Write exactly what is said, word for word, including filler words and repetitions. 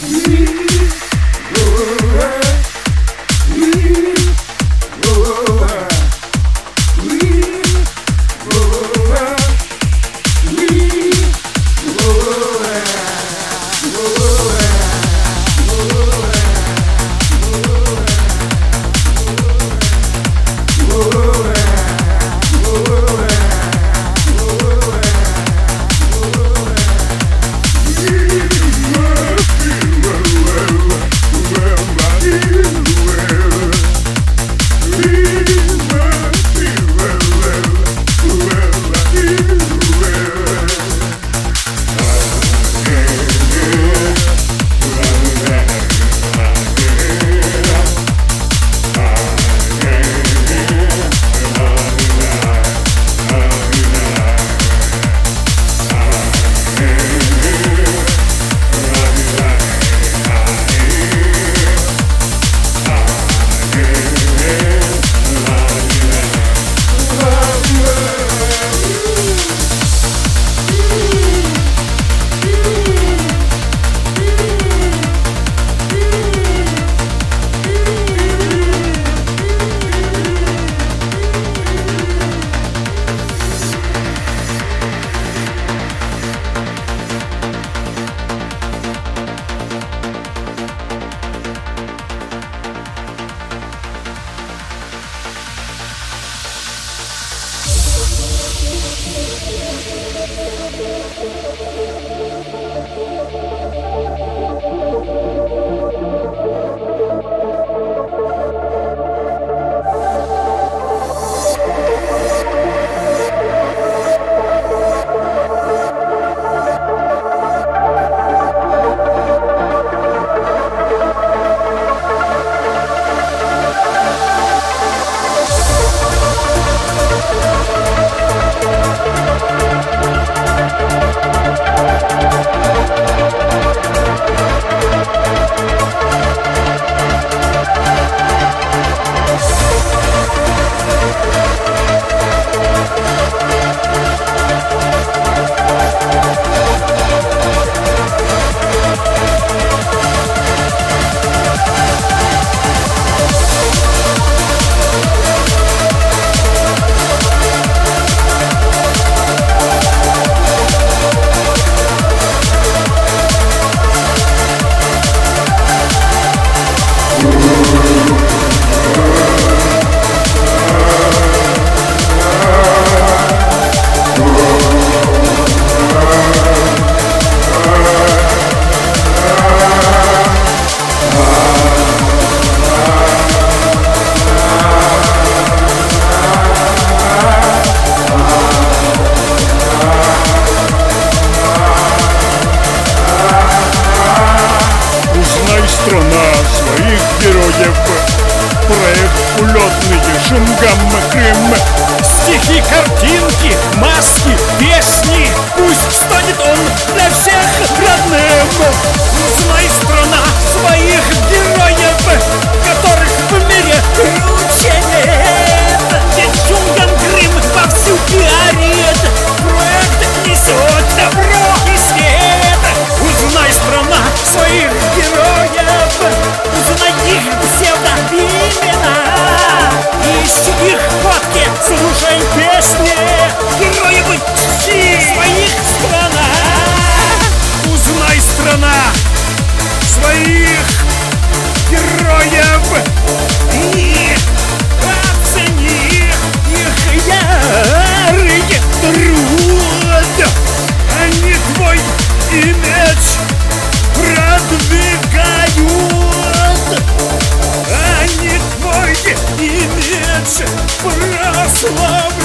проект улетный, шум, гамма, Крым. Стихи, картинки, маски, песни, пусть станет он для всех родным. Знай, страна, своих героев, которых в мире круче нет. Ведь Шунгам Крым вовсю пиарит, проект несет добро и свет. Узнай, страна, своих героев, узнай их псевдоимена, ищи их фотки, слушай песни, героев чти своих страна. Узнай, страна, своих героев и оцени их ярый труд. Они твой имидж продвигают, они твой имидж прославляют.